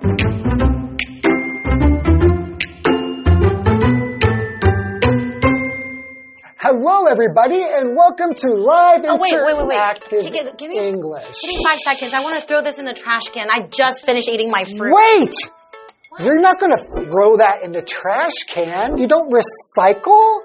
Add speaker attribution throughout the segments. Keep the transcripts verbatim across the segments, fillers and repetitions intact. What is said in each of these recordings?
Speaker 1: Hello, everybody, and welcome to Live
Speaker 2: oh, wait, wait, wait, wait.
Speaker 1: Interactive
Speaker 2: Give, give me,
Speaker 1: English.
Speaker 2: Give me five seconds. I want to throw this in the trash can. I just finished eating my fruit.
Speaker 1: Wait! What? You're not going to throw that in the trash can. You don't recycle?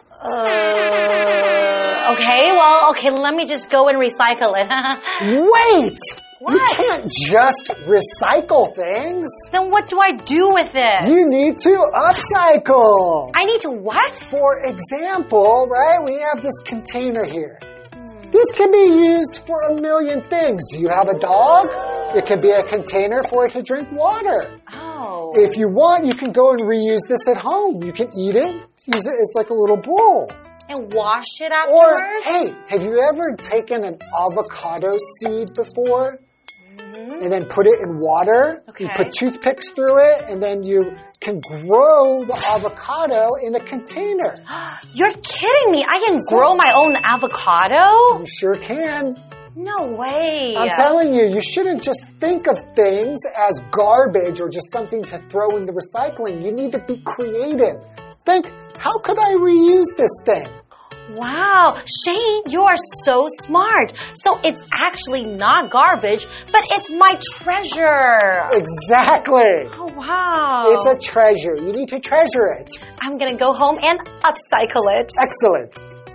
Speaker 2: Uh, okay, well, okay, let me just go and recycle it.
Speaker 1: Wait!
Speaker 2: What?
Speaker 1: You can't just recycle things.
Speaker 2: Then what do I do with it?
Speaker 1: You need to upcycle.
Speaker 2: I need to what?
Speaker 1: For example, right, we have this container here. Hmm. This can be used for a million things. Do you have a dog? It can be a container for it to drink water.
Speaker 2: Oh.
Speaker 1: If you want, you can go and reuse this at home. You can eat it, use it as like a little bowl.
Speaker 2: And wash it afterwards?
Speaker 1: Or, hey, have you ever taken an avocado seed before? Mm-hmm. And then put it in water?
Speaker 2: Okay.
Speaker 1: You put toothpicks through it, and then you can grow the avocado in a container.
Speaker 2: You're kidding me. I can grow my own avocado?
Speaker 1: You sure can.
Speaker 2: No way.
Speaker 1: I'm telling you, you shouldn't just think of things as garbage or just something to throw in the recycling. You need to be creative. Think, how could I reuse this thing?
Speaker 2: Wow, Shane, you are so smart. So it's actually not garbage, but it's my treasure.
Speaker 1: Exactly.
Speaker 2: Oh, wow.
Speaker 1: It's a treasure. You need to treasure it.
Speaker 2: I'm going to go home and upcycle it.
Speaker 1: Excellent.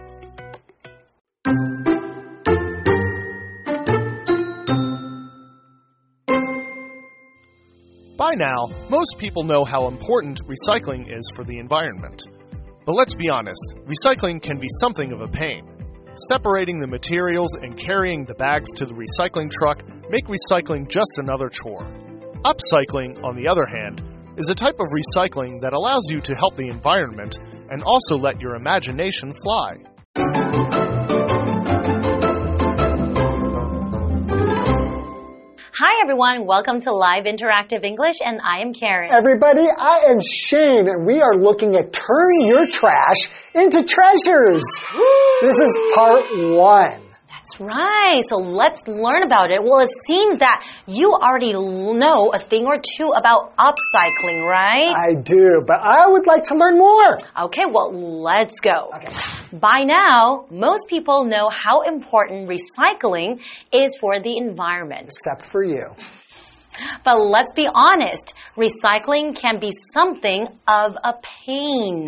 Speaker 3: By now, most people know how important recycling is for the environment. But let's be honest, recycling can be something of a pain. Separating the materials and carrying the bags to the recycling truck make recycling just another chore. Upcycling, on the other hand, is a type of recycling that allows you to help the environment and also let your imagination fly.
Speaker 2: Hi everyone, welcome to Live Interactive English, and I am Karen.
Speaker 1: Everybody, I am Shane, and we are looking at turning your trash into treasures. This is part one.
Speaker 2: That's right. So let's learn about it. Well, it seems that you already know a thing or two about upcycling, right?
Speaker 1: I do, but I would like to learn more.
Speaker 2: Okay, well, let's go.
Speaker 1: Okay.
Speaker 2: By now, most people know how important recycling is for the environment.
Speaker 1: Except for you.
Speaker 2: But let's be honest, recycling can be something of a pain.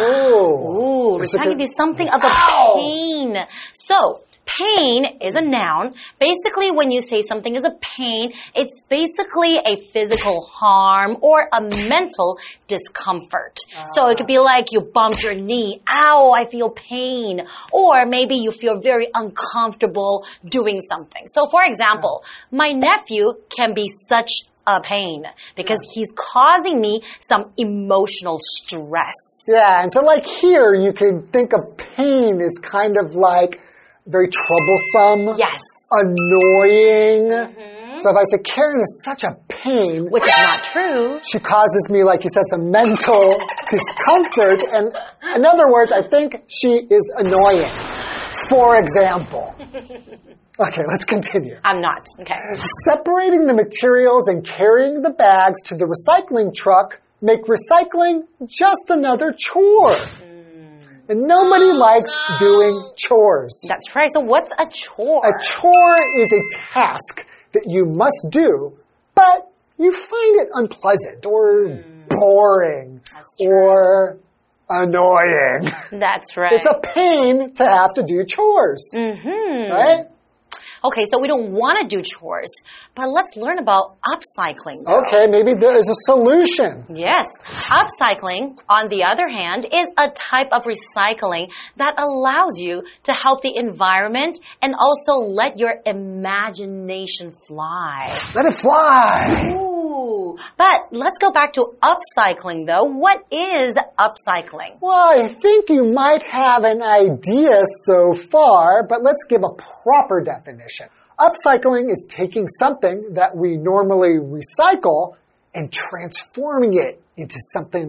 Speaker 1: Oh.
Speaker 2: Ooh, recycling can be something of a pain. So, pain is a noun. Basically, when you say something is a pain, it's basically a physical harm or a mental discomfort. Uh. So it could be like you bump your knee. Ow, I feel pain. Or maybe you feel very uncomfortable doing something. So for example, my nephew can be such a pain because he's causing me some emotional stress.
Speaker 1: Yeah, and so like here, you can think of pain as kind of like very troublesome.
Speaker 2: Yes.
Speaker 1: Annoying.
Speaker 2: Mm-hmm.
Speaker 1: So if I say Karen is such a pain.
Speaker 2: Which is not true.
Speaker 1: She causes me, like you said, some mental discomfort. And in other words, I think she is annoying. For example. Okay, let's continue.
Speaker 2: I'm not. Okay.
Speaker 1: Separating the materials and carrying the bags to the recycling truck make recycling just another chore. And nobody likes doing chores.
Speaker 2: That's right. So what's a chore?
Speaker 1: A chore is a task that you must do, but you find it unpleasant or mm. boring or annoying.
Speaker 2: That's right.
Speaker 1: It's a pain to have to do chores.
Speaker 2: Mm-hmm.
Speaker 1: Right?
Speaker 2: Okay, so we don't want to do chores, but let's learn about upcycling, though.
Speaker 1: Okay, maybe there is a solution.
Speaker 2: Yes. Upcycling, on the other hand, is a type of recycling that allows you to help the environment and also let your imagination fly.
Speaker 1: Let it fly.
Speaker 2: Ooh. But let's go back to upcycling, though. What is upcycling?
Speaker 1: Well, I think you might have an idea so far, but let's give a proper definition. Upcycling is taking something that we normally recycle and transforming it into something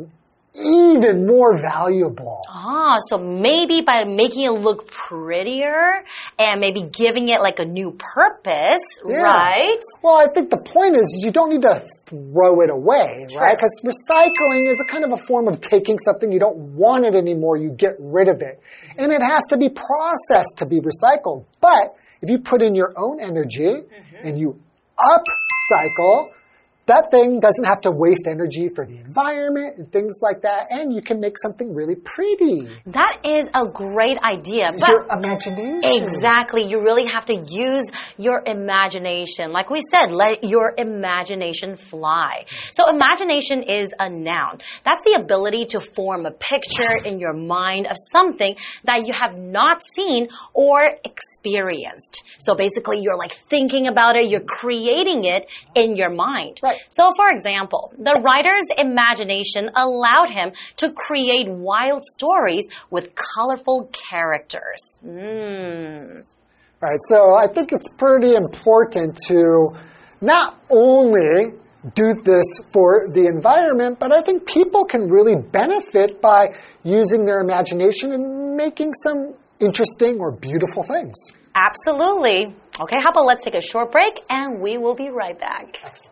Speaker 1: even more valuable.
Speaker 2: Ah, so maybe by making it look prettier and maybe giving it like a new purpose,
Speaker 1: yeah.
Speaker 2: right?
Speaker 1: Well, I think the point is you don't need to throw it away,
Speaker 2: True.
Speaker 1: right? Because recycling is a kind of a form of taking something you don't want it anymore, you get rid of it. And it has to be processed to be recycled. But if you put in your own energy mm-hmm. and you upcycle, that thing doesn't have to waste energy for the environment and things like that, and you can make something really pretty.
Speaker 2: That is a great idea.
Speaker 1: It's your imagination.
Speaker 2: Exactly. You really have to use your imagination. Like we said, let your imagination fly. So imagination is a noun. That's the ability to form a picture in your mind of something that you have not seen or experienced. So basically, you're like thinking about it, you're creating it in your mind.
Speaker 1: Right.
Speaker 2: So, for example, the writer's imagination allowed him to create wild stories with colorful characters. Mm.
Speaker 1: Right, so I think it's pretty important to not only do this for the environment, but I think people can really benefit by using their imagination and making some interesting or beautiful things.
Speaker 2: Absolutely. Okay, how about let's take a short break and we will be right back.
Speaker 1: Excellent.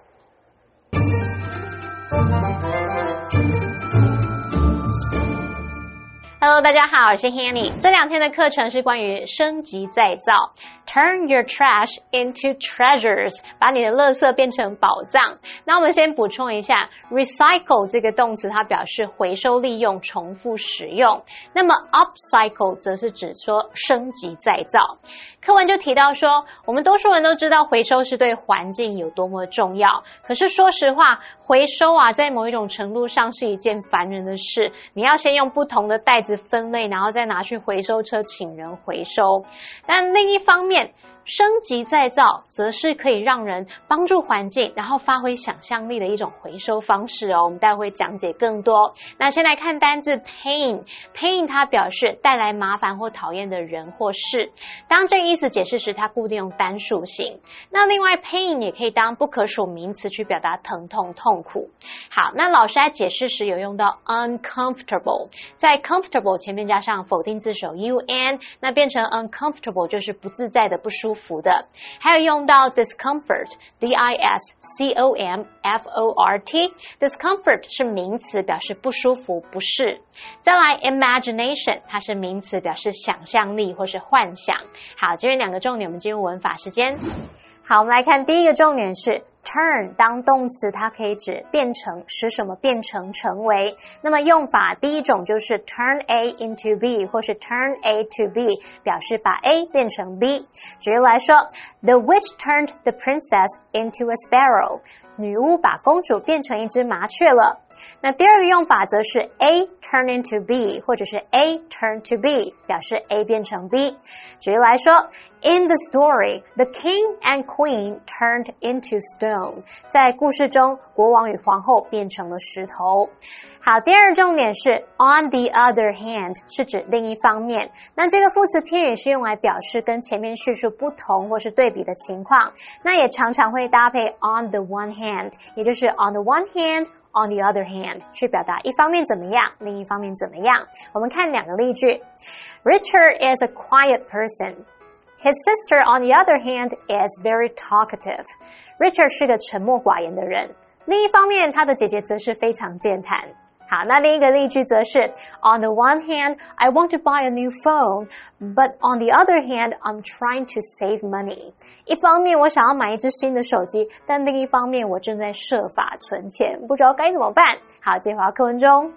Speaker 4: Hello， 大家好，我是 Hanny。这两天的課程是關於升級再造 ，Turn your trash into treasures， 把你的垃圾變成寶藏。那我們先補充一下 ，recycle 這個動詞它表示回收利用、重複使用。那麼 upcycle 則是指說升級再造。課文就提到說，我們多數人都知道回收是對環境有多麼重要，可是說實話，回收啊，在某一種程度上是一件煩人的事。你要先用不同的袋子分類，然後再拿去回收車請人回收。但另一方面，升級再造則是可以讓人幫助環境，然後發揮想象力的一種回收方式哦。我們待會講解更多。那先來看單字 pain， pain 它表示帶來麻煩或討厭的人或事。當這個意思解釋時，它固定用單數型。那另外 pain 也可以當不可數名詞去表達疼痛、痛苦。好，那老師在解釋時有用到 uncomfortable， 在 comfortable 前面加上否定字首 un， 那變成 uncomfortable 就是不自在的、不舒服的。還有用到 discomfort， D I S C O M F O R T， discomfort 是名詞，表示不舒服、不適。再來 imagination， 它是名詞，表示想象力或是幻想。好，今天兩個重點，我們進入文法時間。好，我們來看第一個重點是 turn 當動詞，它可以指變成，使什麼變成、成為。那麼用法第一種就是 turn A into B 或是 turn A to B， 表示把 A 變成 B。舉例來說 The witch turned the princess into a sparrow， 女巫把公主變成一隻麻雀了。那第二個用法則是 A turn into B 或者是 A turn to B， 表示 A 變成 B。舉例來說 In the story, the king and queen turned into stone， 在故事中，國王與皇后變成了石頭。好，第二重點是 on the other hand， 是指另一方面。那這個副詞片語是用來表示跟前面敘述不同或是對比的情況，那也常常會搭配 on the one hand， 也就是 on the one hand。On the other hand， 去表達一方面怎麼樣，另一方面怎麼樣。我們看兩個例句。Richard is a quiet person. His sister, on the other hand, is very talkative. Richard 是個沉默寡言的人，另一方面，他的姐姐則是非常健談。好，那另一個例句則是 On the one hand, I want to buy a new phone, but on the other hand, I'm trying to save money. 一方面我想要買一支新的手機，但另一方面我正在設法存錢，不知道該怎麼辦。好，接回到課文中。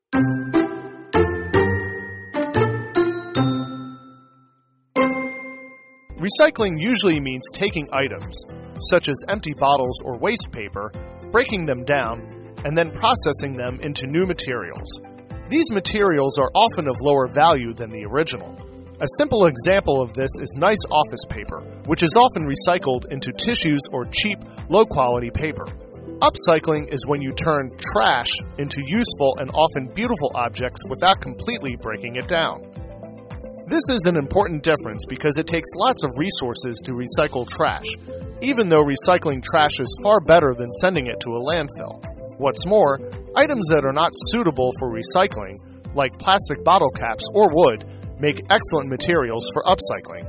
Speaker 3: Recycling usually means taking items, such as empty bottles or waste paper, breaking them down, and then processing them into new materials. These materials are often of lower value than the original. A simple example of this is nice office paper, which is often recycled into tissues or cheap, low-quality paper. Upcycling is when you turn trash into useful and often beautiful objects without completely breaking it down. This is an important difference because it takes lots of resources to recycle trash, even though recycling trash is far better than sending it to a landfill. What's more, items that are not suitable for recycling, like plastic bottle caps or wood, make excellent materials for upcycling.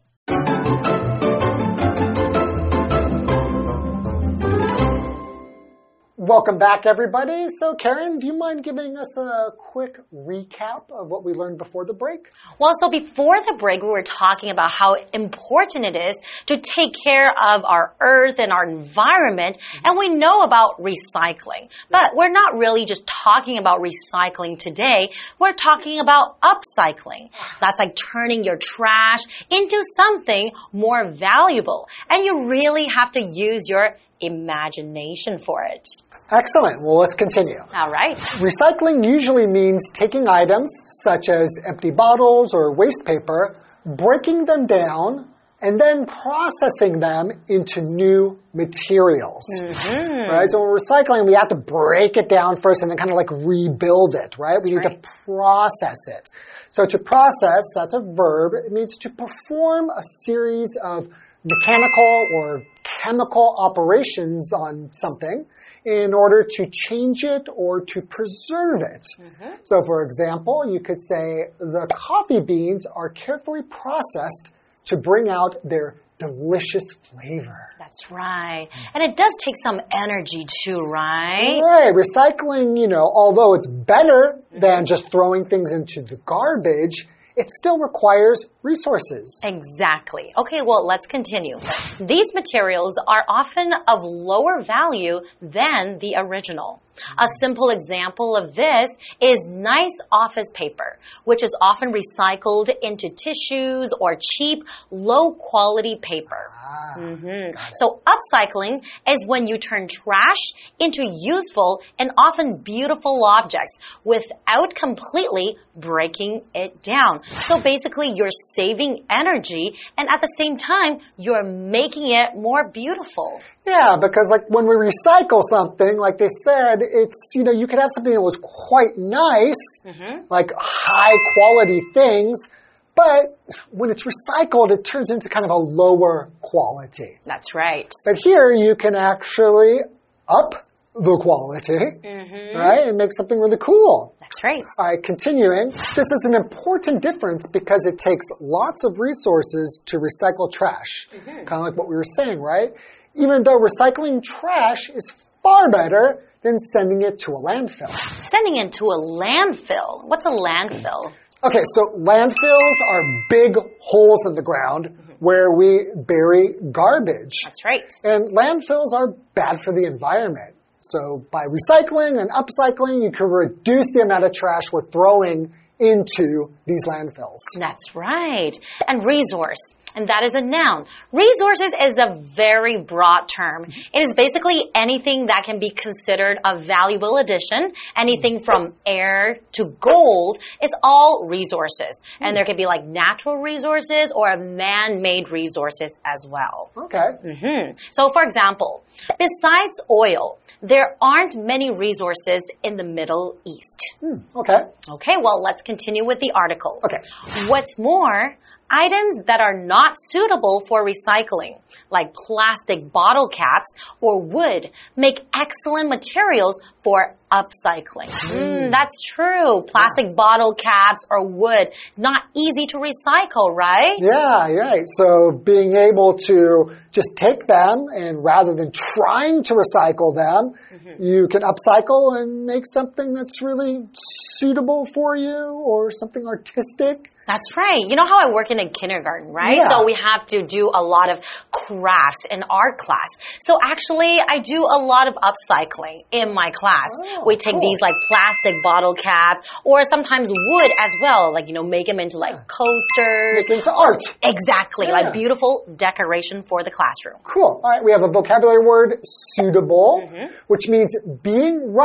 Speaker 1: Welcome back, everybody. So, Karen, do you mind giving us a quick recap of what we learned before the break?
Speaker 2: Well, so before the break, we were talking about how important it is to take care of our earth and our environment, and we know about recycling. But we're not really just talking about recycling today. We're talking about upcycling. That's like turning your trash into something more valuable. And you really have to use your imagination for it.
Speaker 1: Excellent. Well, let's continue.
Speaker 2: All right.
Speaker 1: Recycling usually means taking items such as empty bottles or waste paper, breaking them down, and then processing them into new materials. Mm-hmm. Right? So when we're recycling, we have to break it down first and then kind of like rebuild it, right? We need right. to process it. So to process, that's a verb. It means to perform a series of mechanical or chemical operations on something in order to change it or to preserve it. Mm-hmm. So, for example, you could say the coffee beans are carefully processed to bring out their delicious flavor.
Speaker 2: That's right. And it does take some energy too, right?
Speaker 1: Right. Recycling, you know, although it's better than just throwing things into the garbage, it still requires resources.
Speaker 2: Exactly. Okay, well, let's continue. These materials are often of lower value than the original. A simple example of this is nice office paper, which is often recycled into tissues or cheap, low-quality paper. Ah, mm-hmm. So upcycling is when you turn trash into useful and often beautiful objects without completely breaking it down. So basically, you're saving energy, and at the same time, you're making it more beautiful.
Speaker 1: Yeah, because like when we recycle something, like they said, it's, you know, you could have something that was quite nice, mm-hmm. like high quality things, but when it's recycled, it turns into kind of a lower quality.
Speaker 2: That's right.
Speaker 1: But here you can actually up the quality, mm-hmm. right, and make something really cool.
Speaker 2: That's right.
Speaker 1: All right, continuing. This is an important difference because it takes lots of resources to recycle trash. Mm-hmm. Kind of like what we were saying, right? Even though recycling trash is far better than sending it to a landfill.
Speaker 2: Sending it to a landfill? What's a landfill?
Speaker 1: Okay, so landfills are big holes in the ground mm-hmm. where we bury garbage.
Speaker 2: That's right.
Speaker 1: And landfills are bad for the environment. So by recycling and upcycling, you can reduce the amount of trash we're throwing into these landfills.
Speaker 2: That's right. And resource. And that is a noun. Resources is a very broad term. It is basically anything that can be considered a valuable addition. Anything from air to gold is all resources. And there could be like natural resources or man-made resources as well.
Speaker 1: Okay.
Speaker 2: Mm-hmm. So for example, besides oil, there aren't many resources in the Middle East.
Speaker 1: Hmm, okay.
Speaker 2: Okay, well, let's continue with the article.
Speaker 1: Okay.
Speaker 2: What's more, items that are not suitable for recycling, like plastic bottle caps or wood, make excellent materials for upcycling. Mm, that's true. Plastic yeah. bottle caps or wood, not easy to recycle, right?
Speaker 1: Yeah, right. So being able to just take them and rather than trying to recycle them, mm-hmm. you can upcycle and make something that's really suitable for you or something artistic.
Speaker 2: That's right. You know how I work in a kindergarten, right?
Speaker 1: Yeah.
Speaker 2: So we have to do a lot of crafts in art class. So actually, I do a lot of upcycling in my class. Oh, we take
Speaker 1: cool.
Speaker 2: these like plastic bottle caps or sometimes wood as well, like, you know, make them into like coasters.
Speaker 1: Make into art.
Speaker 2: Exactly.
Speaker 1: Yeah.
Speaker 2: Like beautiful decoration for the classroom.
Speaker 1: Cool. All right. We have a vocabulary word, suitable, mm-hmm. which means being right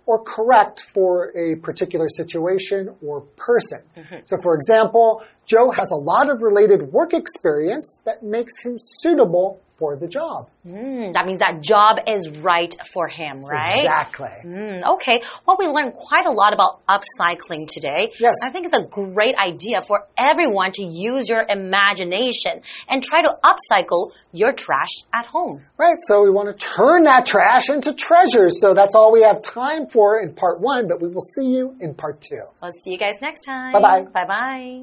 Speaker 1: or correct for a particular situation or person. Mm-hmm. So for example, Joe has a lot of related work experience that makes him suitable for the job.
Speaker 2: Mm, that means that job is right for him, right?
Speaker 1: Exactly.
Speaker 2: Mm, okay. Well, we learned quite a lot about upcycling today.
Speaker 1: Yes.
Speaker 2: I think it's a great idea for everyone to use your imagination and try to upcycle your trash at home.
Speaker 1: Right. So we want to turn that trash into treasures. So that's all we have time for in part one, but we will see you in part two.
Speaker 2: We'll see you guys next time.
Speaker 1: Bye-bye.
Speaker 2: Bye-bye.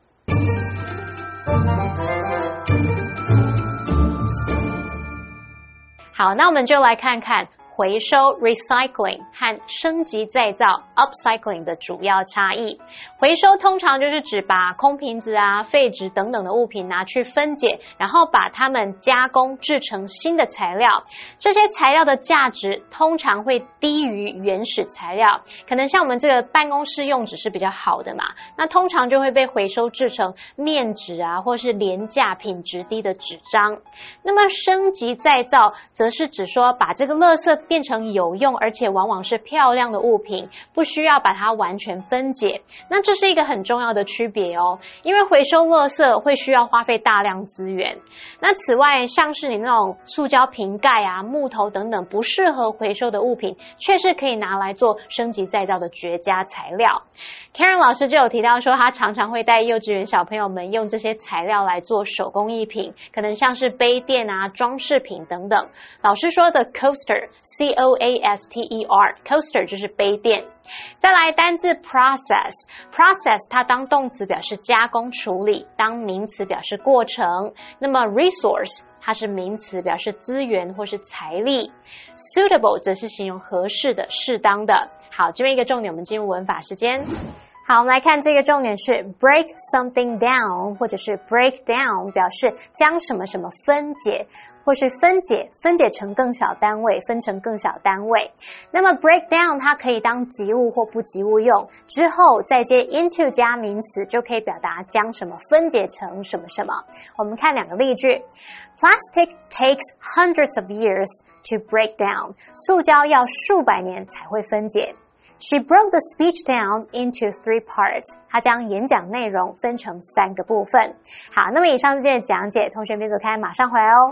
Speaker 4: Bye. 好，那我们就来看看回收 recycling 和升级再造 upcycling 的主要差异。回收通常就是指把空瓶子啊、廢紙等等的物品拿去分解，然後把它們加工製成新的材料。這些材料的價值通常會低於原始材料，可能像我們這個辦公室用紙是比較好的嘛，那通常就會被回收製成面紙啊，或是廉價品質低的紙張。那麼升級再造則是指說把這個垃圾變成有用而且往往是漂亮的物品，不需要把它完全分解。那這是一個很重要的區別哦，因為回收垃圾會需要花費大量資源。那此外，像是你那種塑膠瓶蓋啊、木頭等等不適合回收的物品，卻是可以拿來做升級再造的絕佳材料。Karen 老師就有提到說，他常常會帶幼稚園小朋友們用這些材料來做手工藝品，可能像是杯墊啊、裝飾品等等。老師說的 coaster C O A S T E R coaster 就是杯墊。再來單字 process process 它當動詞表示加工處理，當名詞表示過程。那麼 resource 它是名詞表示資源或是財力。suitable 則是形容合適的、適當的。好，這邊一個重點，我們進入文法時間。好，我們來看這個重點是 break something down 或者是 break down 表示將什麼什麼分解或是分解分解成更小單位，分成更小單位。那麼 break down 它可以當及物或不及物用，之後再接 into 加名詞，就可以表達將什麼分解成什麼什麼。我們看兩個例句。Plastic takes hundreds of years to break down 塑膠要數百年才會分解。She broke the speech down into three parts. 她將演講內容分成三個部分。好，那麼以上是今天的講解，同學別走開，馬上回來哦。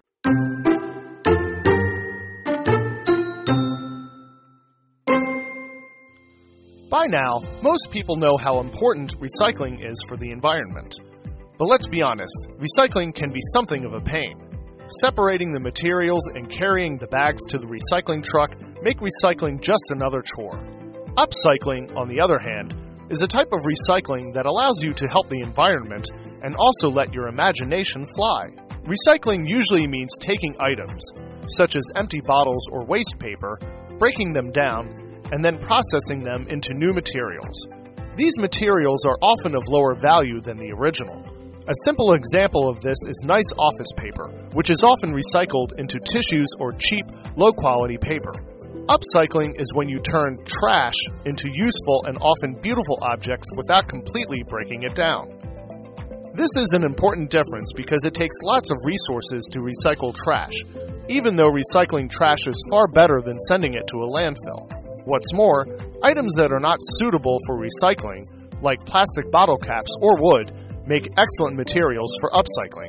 Speaker 3: By now, most people know how important recycling is for the environment. But let's be honest, recycling can be something of a pain. Separating the materials and carrying the bags to the recycling truck make recycling just another chore. Upcycling, on the other hand, is a type of recycling that allows you to help the environment and also let your imagination fly. Recycling usually means taking items, such as empty bottles or waste paper, breaking them down, and then processing them into new materials. These materials are often of lower value than the original. A simple example of this is nice office paper, which is often recycled into tissues or cheap, low-quality paper. Upcycling is when you turn trash into useful and often beautiful objects without completely breaking it down. This is an important difference because it takes lots of resources to recycle trash, even though recycling trash is far better than sending it to a landfill. What's more, items that are not suitable for recycling, like plastic bottle caps or wood, make excellent materials for upcycling.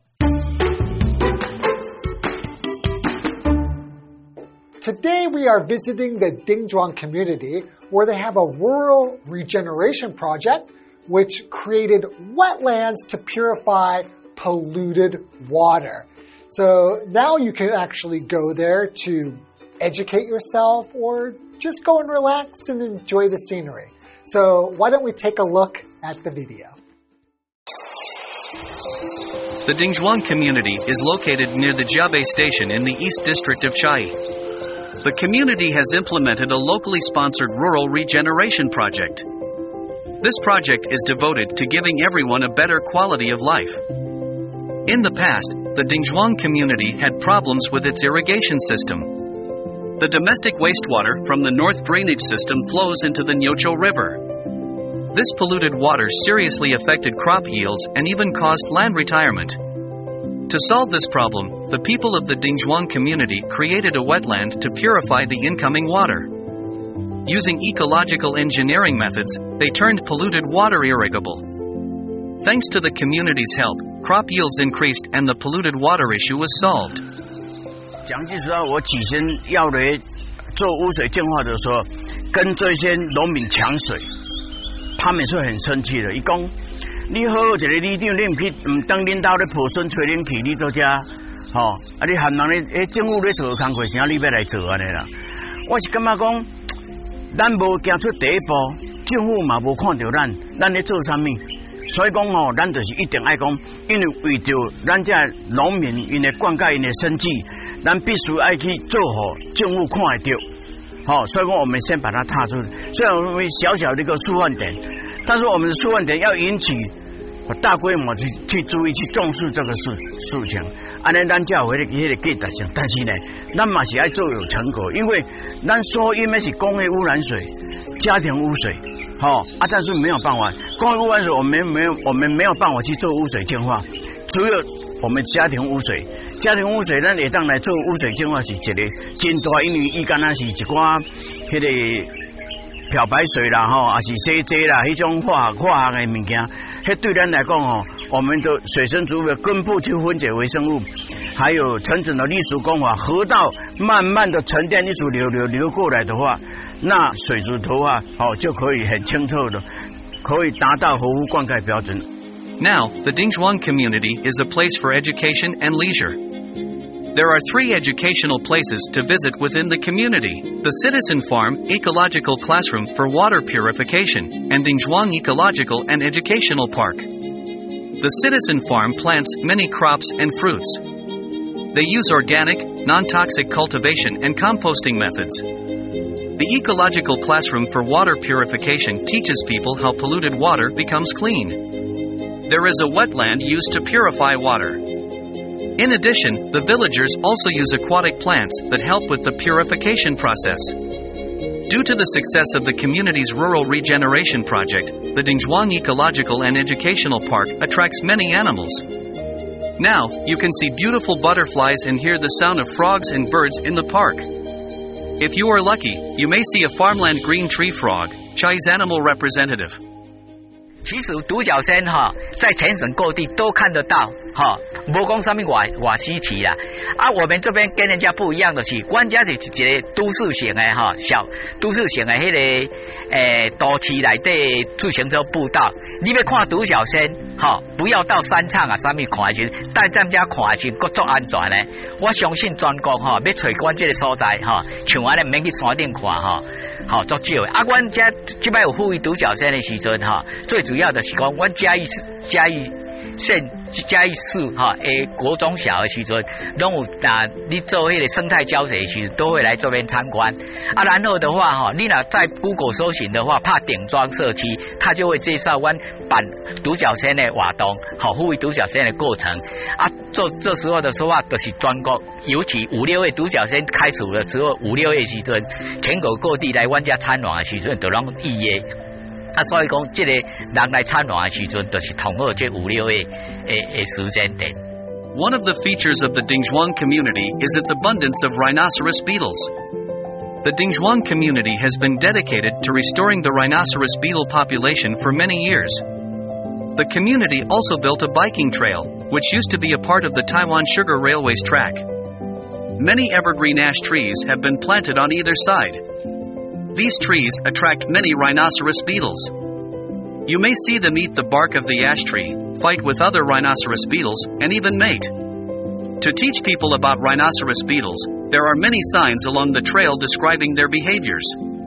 Speaker 1: Today we are visiting the Dingzhuang community where they have a rural regeneration project which created wetlands to purify polluted water. So now you can actually go there to educate yourself or just go and relax and enjoy the scenery. So why don't we take a look at the video?
Speaker 5: The Dingzhuang community is located near the Jiabei station in the East District of Chiayi. The community has implemented a locally sponsored rural regeneration project. This project is devoted to giving everyone a better quality of life. In the past, the Dingzhuang community had problems with its irrigation system. The domestic wastewater from the north drainage system flows into the Nyocho River. This polluted water seriously affected crop yields and even caused land retirement. To solve this problem, the people of the Dingzhuang community created a wetland to purify the incoming water. Using ecological engineering methods, they turned polluted water irrigable. Thanks to the community's help, crop yields increased and the polluted water issue was solved.
Speaker 6: 讲句实话，我起先要来做污水净化的时候，跟这些农民搶水，他們是很生氣的。伊講，你好好一個里長，你唔去唔當領導咧抱孫吹冷氣，你做遮，吼、哦，啊你含人咧，誒政府咧做工課，啥你要來做安尼啦？我是感覺講，咱無行出第一步，政府嘛無看到咱，咱咧做啥物？所以講吼，咱就是一定愛講，因為為着咱遮農民因的灌溉因的生計，咱必須愛去做好政府看得到。好、哦，所以說我們先把它踏出。雖然我們小小的一個示範點，但是我們的示範點要引起大規模去去注意、去重視這個事事情。安尼咱才有迄個迄個價值性。但是呢，咱嘛是愛做有成果，因為咱所因為是工業污染水、家庭污水，好、哦、啊，但是沒有辦法，工業污染水我們沒有我們沒有辦法去做污水淨化，只有我們家庭污水。家庭污水，咱會當來做污水淨化是一個真大，因為伊敢若是一寡迄個漂白水啦，吼，也是洗劑啦，迄種化學化學的物件，迄對咱來講吼，我們的水生植物的根部去分解微生物，還有層層的濾除工法，河道慢慢的沉澱濾除流流流過來的話，那水質的話，哦就可以很清澈的，可以達到合乎灌溉標準。
Speaker 5: Now, the Dingzhuang community is a place for education and leisure. There are three educational places to visit within the community: the Citizen Farm Ecological Classroom for Water Purification, and Dingzhuang Ecological and Educational Park. The Citizen Farm plants many crops and fruits. They use organic, non-toxic cultivation and composting methods. The Ecological Classroom for Water Purification teaches people how polluted water becomes clean. There is a wetland used to purify water. In addition, the villagers also use aquatic plants that help with the purification process. Due to the success of the community's rural regeneration project, the Dingzhuang Ecological and Educational Park attracts many animals. Now, you can see beautiful butterflies and hear the sound of frogs and birds in the park. If you are lucky, you may see a farmland green tree frog, Chiayi's animal representative.
Speaker 7: 其實獨角仙哈，在全省各地都看得到哈，無講什麼外外稀奇啦。啊，我們這邊跟人家不一樣的是，阮家是一個都市型的哈，小都市型的迄、那個誒、欸、都市內底自行車步道。你要看獨角仙哈，不要到山場啊，啥物看去，在咱家看去，佫足安全咧。我相信全國哈，要找阮這個所在哈，像安尼免去山頂看哈。好，足少的。啊，阮遮即擺有富裕獨角仙的時陣哈，最主要的是講，阮嘉義嘉義縣嘉義市哈誒國中小的時陣，攏有啊，你做迄個生態教學的時候，都會來這邊參觀。啊，然後的話哈，你若在 Google 搜尋的話，拍頂莊社區，他就會介紹阮辦獨角仙的活動，好，富裕獨角仙的過程。啊，做這時候的說話，就是全國，尤其五六月獨角仙開始的時候，五六月時陣，全國各地來阮家參觀的時陣，都攏預約。啊，所以講，這個人來參觀的時陣，就是同好這五六月誒誒時間點。
Speaker 5: One of the features of the Dingzhuang community is its abundance of rhinoceros beetles. The Dingzhuang community has been dedicated to restoring the rhinoceros beetle population for many years. The community also built a biking trail, which used to be a part of the Taiwan Sugar Railway's track. Many evergreen ash trees have been planted on either side. These trees attract many rhinoceros beetles. You may see them eat the bark of the ash tree, fight with other rhinoceros beetles, and even mate. To teach people about rhinoceros beetles, there are many signs along the trail describing their behaviors.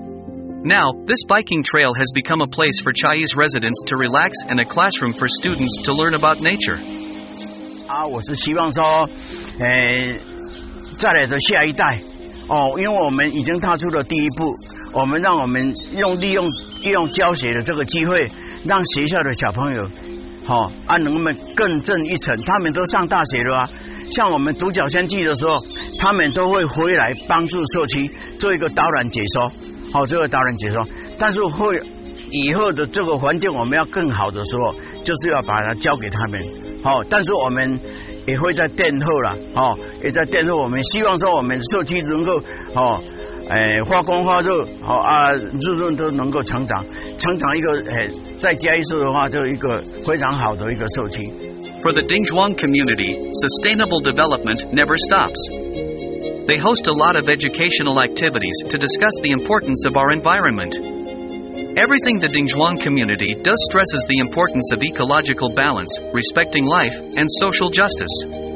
Speaker 5: Now, this biking trail has become a place for Chiayi's residents to relax and a classroom for students to learn about nature.
Speaker 6: 啊，我是希望說，呃，再來的下一代，哦，因為我們已經踏出了第一步。我們讓我們用利用利用教學的這個機會，讓學校的小朋友，好、哦，啊，能夠更進一層。他們都上大學了啊，像我們獨角仙季的時候，他們都會回來幫助社區做一個導覽解說，好、哦，這個導覽解說。但是會以後的這個環境我們要更好的時候，就是要把它交給他們，好、哦。但是我們也會在殿後了，哦，也在殿後。我們希望說我們社區能夠，哦。 誒發光發熱，好啊，日潤都能夠成長，成長一個誒，在嘉義市的話，就一個非常好的一個社區。
Speaker 5: For the Dingzhuang community, sustainable development never stops. They host a lot of educational activities to discuss the importance of our environment. Everything the Dingzhuang community does stresses the importance of ecological balance, respecting life, and social justice.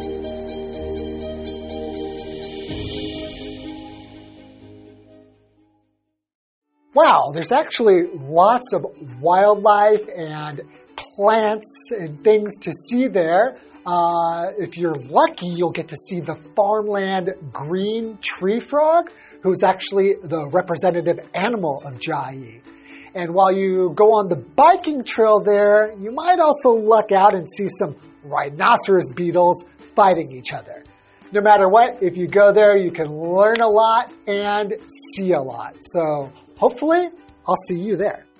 Speaker 1: Wow, there's actually lots of wildlife and plants and things to see there. Uh, if you're lucky, you'll get to see the farmland green tree frog, who's actually the representative animal of Chiayi. And while you go on the biking trail there, you might also luck out and see some rhinoceros beetles fighting each other. No matter what, if you go there, you can learn a lot and see a lot. So hopefully, I'll see you there.